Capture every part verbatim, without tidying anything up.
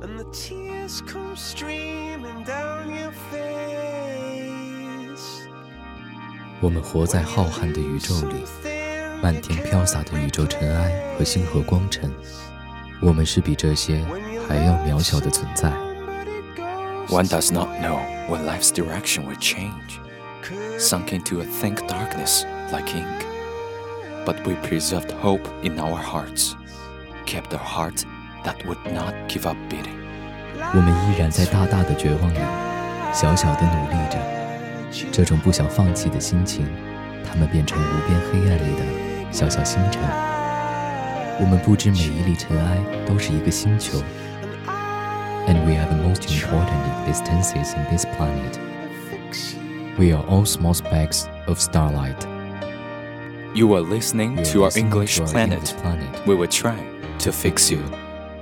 and the tears come streaming down your face。 我们活在浩瀚的宇宙里，漫天飘洒的宇宙尘埃和星河光尘，我们是比这些还要渺小的存在。 One does not know when life's direction will change, sunk into a thick darkness like ink. But we preserved hope in our hearts, kept a heart that would not give up beating. 我们依然在大大的绝望里，小小的努力着。这种不想放弃的心情，它们变成无边黑暗里的小小星辰。我们不知每一粒尘埃都是一个星球。And we are the most important existences in this planet. We are all small specks of starlight. You are listening You are to our listening English to our planet. English planet. We will try to fix you.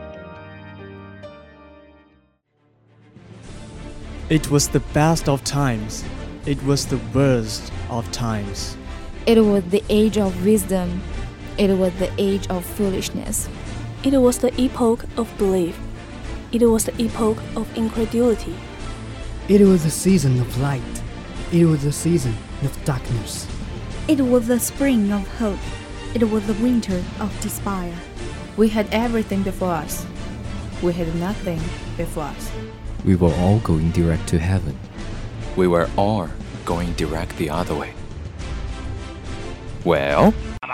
It was the best of times. It was the worst of times. It was the age of wisdom. It was the age of foolishness. It was the epoch of belief. It was the epoch of incredulity. It was the season of light. It was the season of darkness. It was the spring of hope. It was the winter of despair. We had everything before us. We had nothing before us. We were all going direct to heaven. We were all going direct the other way. Well,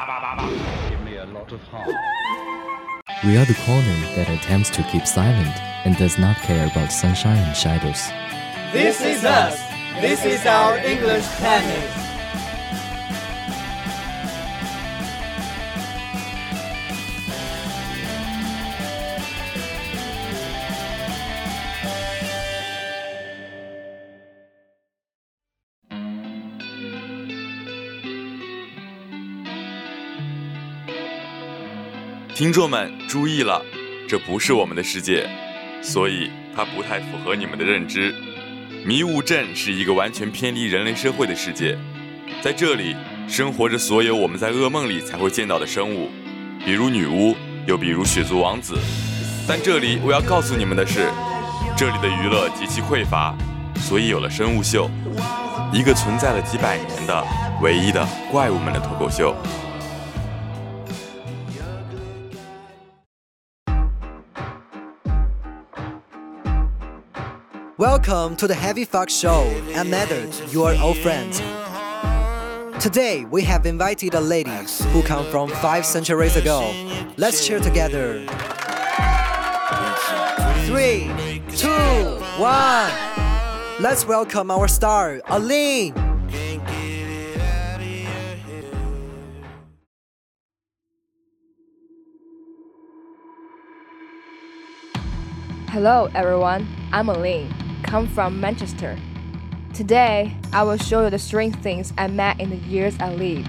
We are the corner that attempts to keep silent and does not care about sunshine and shadows. This is us. This is our English planet. 听众们注意了，这不是我们的世界，所以它不太符合你们的认知。迷雾镇是一个完全偏离人类社会的世界，在这里生活着所有我们在噩梦里才会见到的生物，比如女巫，又比如血族王子。但这里我要告诉你们的是，这里的娱乐极其匮乏，所以有了生物秀，一个存在了几百年的唯一的怪物们的脱口秀。 Welcome to the Heavy Fuck Show. I'm Medard, your old friend. Today we have invited a lady who come from five centuries ago. Let's cheer together. Three, two, one. Let's welcome our star, Aline. Hello everyone, I'm Aline, come from Manchester. Today, I will show you the strange things I met in the years I lived.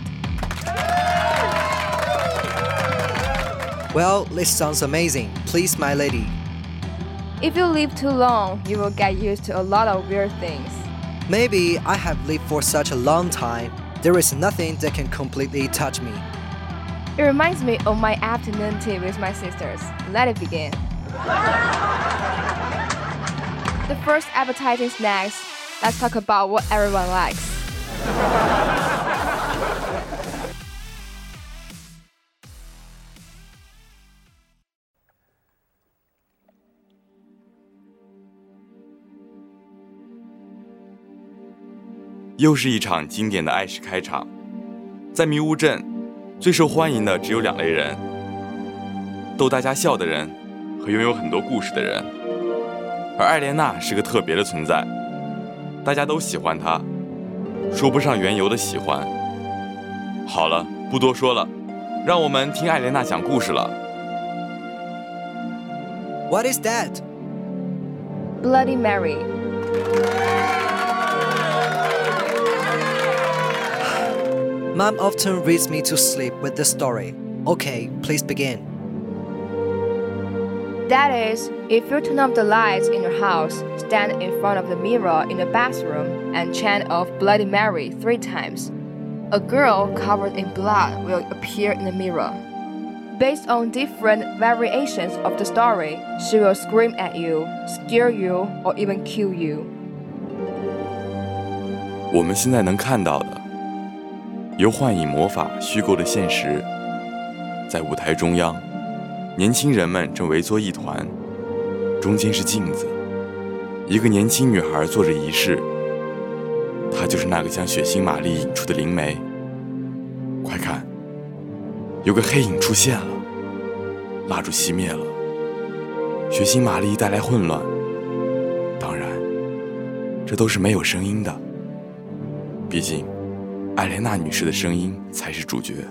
Well, this sounds amazing. Please, my lady. If you live too long, you will get used to a lot of weird things. Maybe I have lived for such a long time, there is nothing that can completely touch me. It reminds me of my afternoon tea with my sisters. Let it begin. The first appetizing snacks, let's talk about what everyone likes. “又是一场经典的爱式开场。在迷雾镇，最受欢迎的只有两类人：逗大家笑的人和拥有很多故事的人。而艾莲娜是个特别的存在，大家都喜欢她，说不上缘由的喜欢。好了，不多说了，让我们听艾莲娜讲故事了。 What is that? Bloody Mary. Mom often reads me to sleep with this story. Okay, please begin. That is, if you turn off the lights in your house, stand in front of the mirror in the bathroom, and chant of Bloody Mary three times, a girl covered in blood will appear in the mirror. Based on different variations of the story, she will scream at you, scare you, or even kill you. 我们现在能看到的，由幻影魔法虚构的现实，在舞台中央，年轻人们正围作一团，中间是镜子，一个年轻女孩做着仪式，她就是那个将血腥玛丽引出的灵媒。快看，有个黑影出现了，蜡烛熄灭了，血腥玛丽带来混乱。当然，这都是没有声音的，毕竟艾莲娜女士的声音才是主角。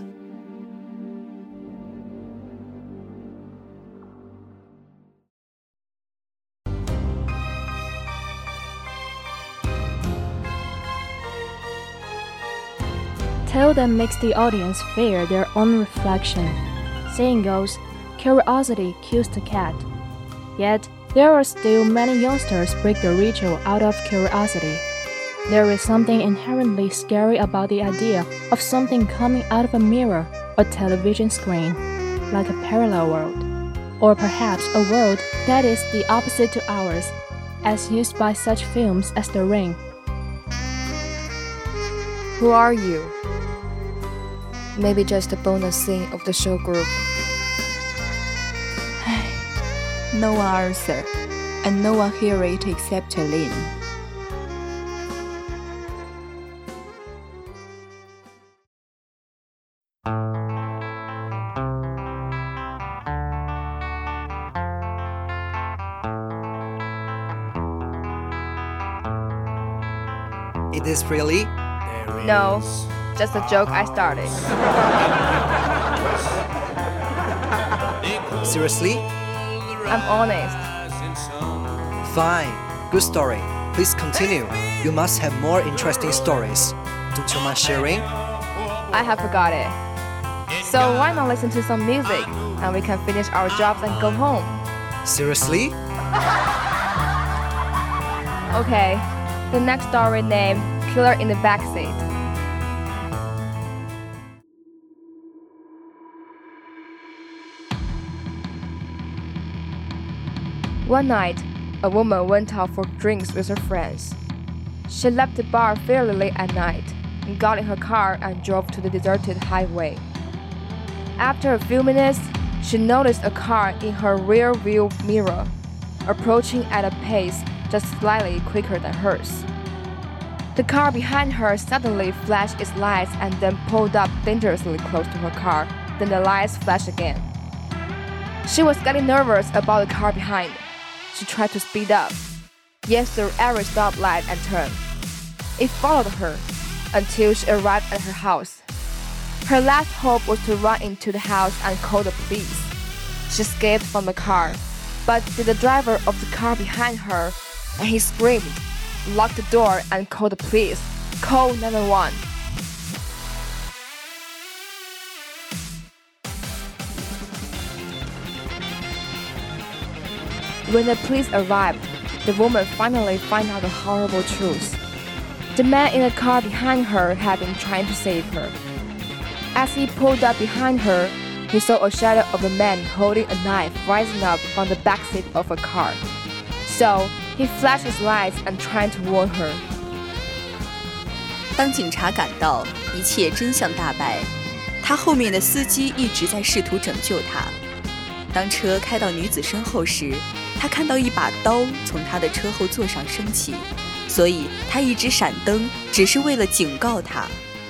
Tale that makes the audience fear their own reflection. Saying goes, curiosity kills the cat. Yet, there are still many youngsters break the ritual out of curiosity. There is something inherently scary about the idea of something coming out of a mirror or television screen, like a parallel world, or perhaps a world that is the opposite to ours, as used by such films as The Ring. Who are you? Maybe just a bonus scene of the show group. No one answer, and no one hear it except Lin. It is really? No, just a joke I started. Seriously? I'm honest. Fine. Good story. Please continue. You must have more interesting stories. Don't you mind sharing? I have forgot it. So why not listen to some music and we can finish our jobs and go home? Seriously? Okay. The next story named Killer in the Backseat. One night, a woman went out for drinks with her friends. She left the bar fairly late at night, and got in her car and drove to the deserted highway. After a few minutes, she noticed a car in her rear view mirror, approaching at a pace just slightly quicker than hers. The car behind her suddenly flashed its lights and then pulled up dangerously close to her car. Then the lights flashed again. She was getting nervous about the car behind. She tried to speed up, yet through every stoplight and turn. It followed her until she arrived at her house. Her last hope was to run into the house and call the police. She escaped from the car, but the driver of the car behind her, and he screamed, locked the door and called the police. Call nine one one. When the police arrived, the woman finally found out the horrible truth. The man in the car behind her had been trying to save her. As he pulled up behind her, he saw a shadow of a man holding a knife rising up from the backseat of a car. So, he flashed his lights and tried to warn her. 当警察赶到，一切真相大白。他后面的司机一直在试图拯救他。当车开到女子身后时，他看到一把刀从她的车后座上升起，所以他一直闪灯，只是为了警告她。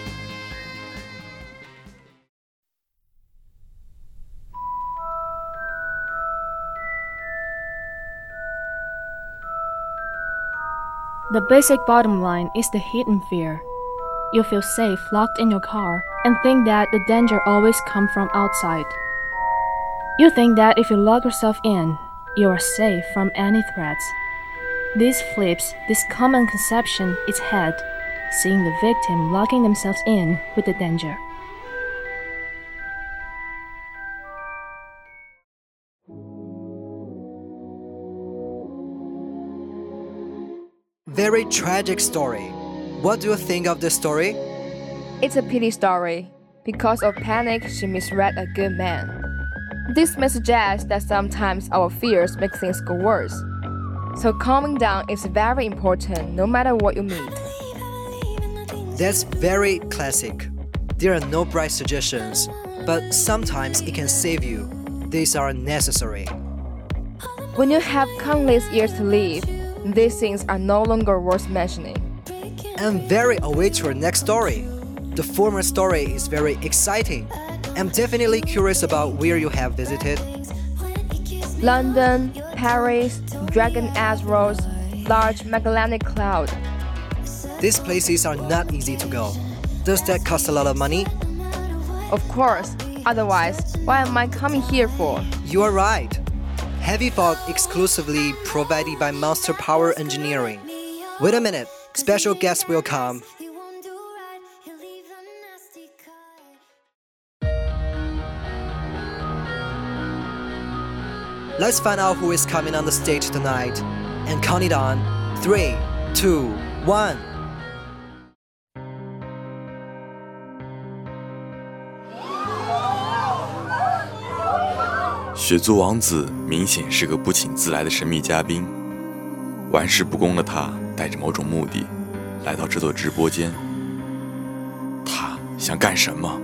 The basic bottom line is the hidden fear. You feel safe locked in your car and think that the danger always comes from outside. You think that if you lock yourself in, you are safe from any threats. This flips this common conception its head, seeing the victim locking themselves in with the danger. Very tragic story. What do you think of this story? It's a pity story. Because of panic, she misread a good man. This may suggest that sometimes our fears make things go worse. So calming down is very important no matter what you meet. That's very classic. There are no bright suggestions, but sometimes it can save you. These are necessary. When you have countless years to live, these things are no longer worth mentioning. I'm very await your next story. The former story is very exciting. I'm definitely curious about where you have visited. London, Paris, Dragon Azros, large Magellanic Cloud. These places are not easy to go. Does that cost a lot of money? Of course. Otherwise, why am I coming here for? You are right. Heavy Fog exclusively provided by Monster Power Engineering. Wait a minute. Special guest will come. Let's find out who is coming on the stage tonight. And count it on. Three, two, one. 雪族王子明显是个不请自来的神秘嘉宾，玩世不恭的他带着某种目的来到这座直播间。他想干什么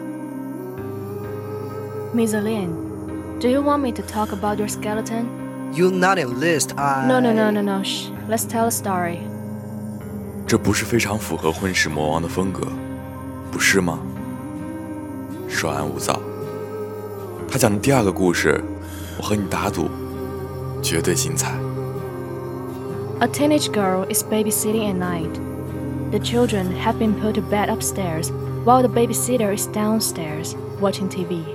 Miss Lin, do you want me to talk about your skeleton? You not enlist, I... No, no, no, no, no, shh. Let's tell a story. 这不是非常符合婚世魔王的风格，不是吗？稍安勿躁。他讲的第二个故事，我和你打赌，绝对精彩。 A teenage girl is babysitting at night. The children have been put to bed upstairs, while the babysitter is downstairs watching T V.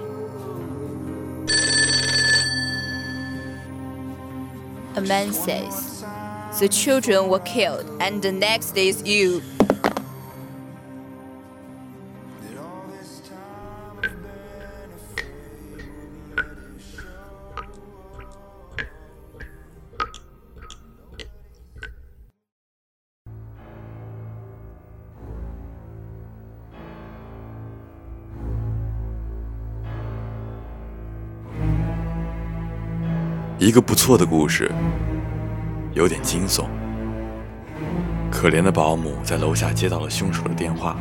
A man says, "The children were killed, and the next is you." 一个不错的故事，有点惊悚。可怜的保姆在楼下接到了凶手的电话，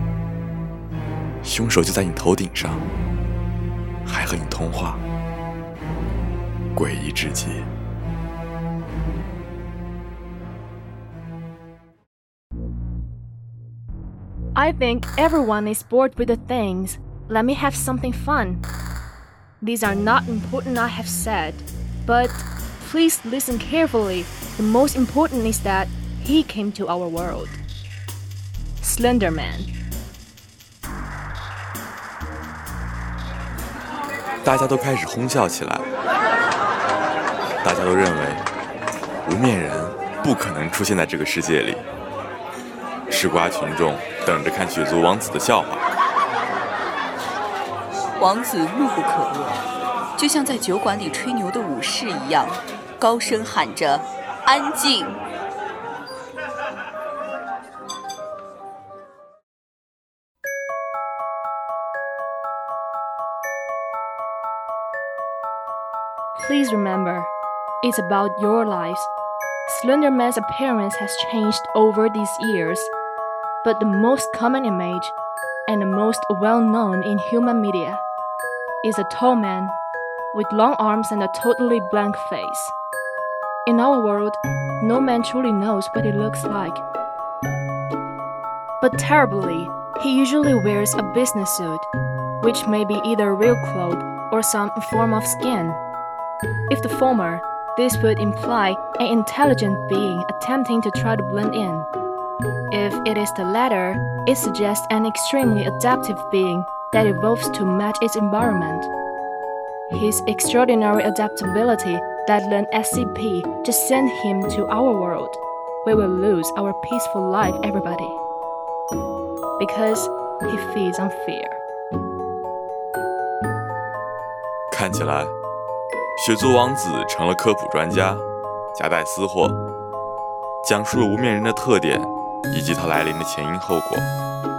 凶手就在你头顶上，还和你通话，诡异至极。 I think everyone is bored with the things. Let me have something fun. These are not important, I have said. But please listen carefully. The most important is that he came to our world. Slender Man. 大家都开始哄笑起来。大家都认为无面人不可能出现在这个世界里。吃瓜群众等着看雪族王子的笑话。 王子怒不可遏。就像在酒馆里吹牛的武士一样，高声喊着“安静”。 Please remember, it's about your lives. Slender Man's appearance has changed over these years, but the most common image, and the most well-known in human media, is a tall man with long arms and a totally blank face. In our world, no man truly knows what he looks like. But terribly, he usually wears a business suit, which may be either real cloth or some form of skin. If the former, this would imply an intelligent being attempting to try to blend in. If it is the latter, it suggests an extremely adaptive being that evolves to match its environment. His extraordinary adaptability that led S C P to send him to our world. We will lose our peaceful life, everybody. Because he feeds on fear. 看起来，雪族王子成了科普专家，夹带私货，讲述了无面人的特点以及它来临的前因后果。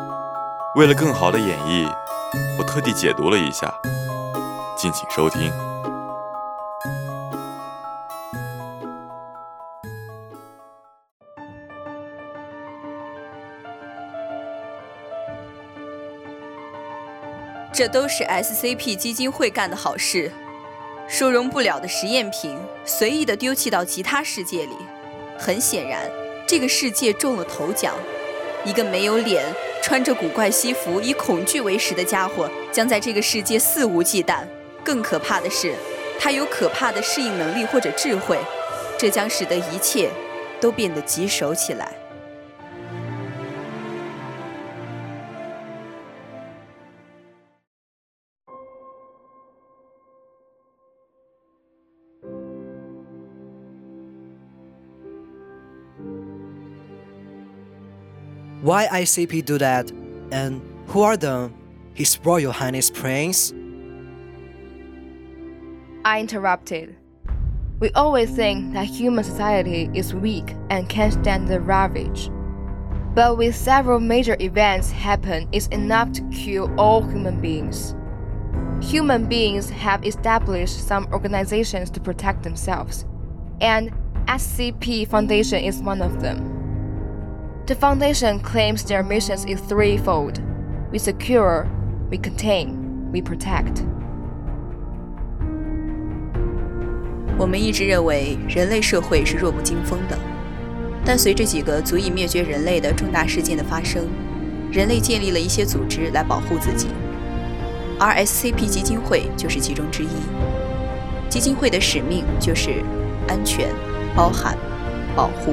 为了更好的演绎，我特地解读了一下。敬请收听。 这都是 S C P 基金会干的好事。收容不了的实验品随意地丢弃到其他世界里，很显然这个世界中了头奖。一个没有脸、穿着古怪西服、以恐惧为食的家伙将在这个世界肆无忌惮。更可怕的是，他有可怕的适应能力或者智慧，这将使得一切都变得棘手起来。 Why I C P do that? And who are them? His Royal Highness Prince? I interrupted. We always think that human society is weak and can't stand the ravage. But with several major events happen, it's enough to kill all human beings. Human beings have established some organizations to protect themselves, and S C P Foundation is one of them. The Foundation claims their missions is threefold. We secure, we contain, we protect. 我们一直认为人类社会是弱不禁风的，但随着几个足以灭绝人类的重大事件的发生，人类建立了一些组织来保护自己，而 S C P 基金会就是其中之一。基金会的使命就是安全、包含、保护。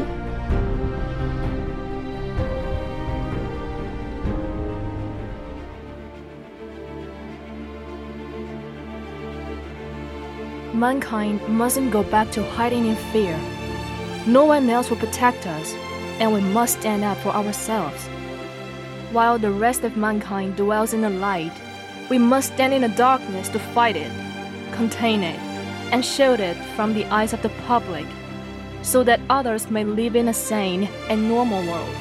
Mankind mustn't go back to hiding in fear. No one else will protect us, and we must stand up for ourselves. While the rest of mankind dwells in the light, we must stand in the darkness to fight it, contain it, and shield it from the eyes of the public, so that others may live in a sane and normal world.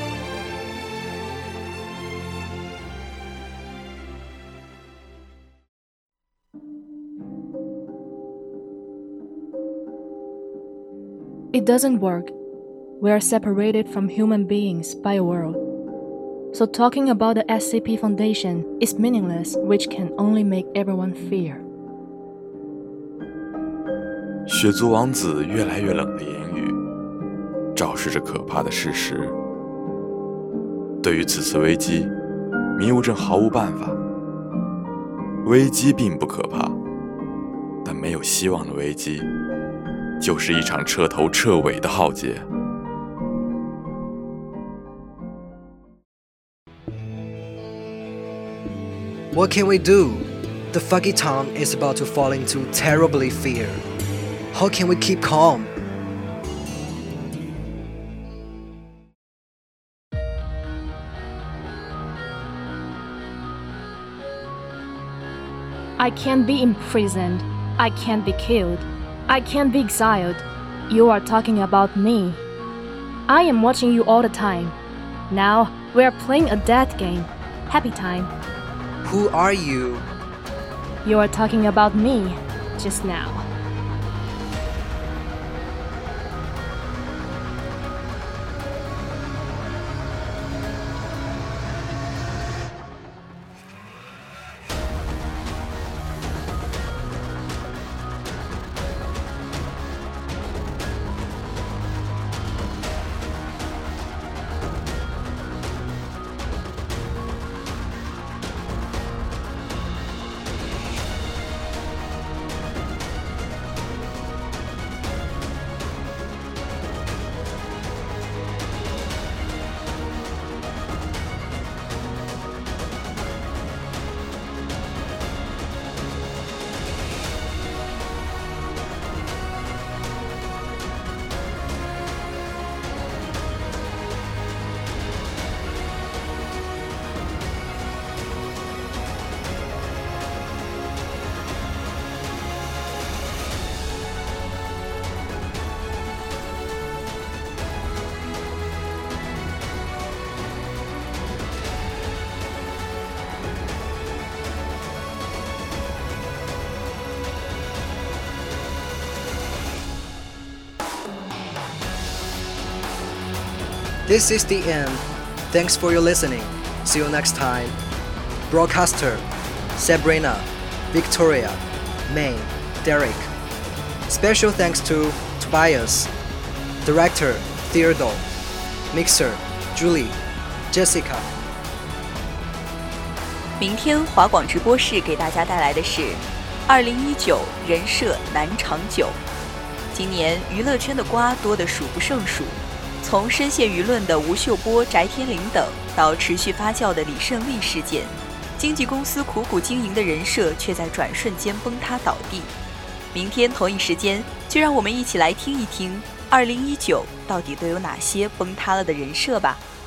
It doesn't work. We are separated from human beings by a world. So talking about the S C P Foundation is meaningless, which can only make everyone fear. 血族王子越来越冷的言语，昭示着可怕的事实。对于此次危机，迷雾镇毫无办法。危机并不可怕，但没有希望的危机，就是一场彻头彻尾的浩劫。 What can we do? The Foggy Town is about to fall into terribly fear. How can we keep calm? I can't be imprisoned. I can't be killed. I can't be exiled. You are talking about me. I am watching you all the time. Now we are playing a death game. Happy time. Who are you? You are talking about me just now. This is the end. Thanks for your listening. See you next time. Broadcaster Sabrina, Victoria, May, Derek. Special thanks to Tobias, Director Theodore, Mixer Julie, Jessica. 明天华广直播室给大家带来的是二零一九人设难长久。今年娱乐圈的瓜多得数不胜数，从深陷舆论的吴秀波、翟天临等，到持续发酵的李胜利事件，经纪公司苦苦经营的人设却在转瞬间崩塌倒地。明天同一时间，就让我们一起来听一听二零一九到底都有哪些崩塌了的人设吧。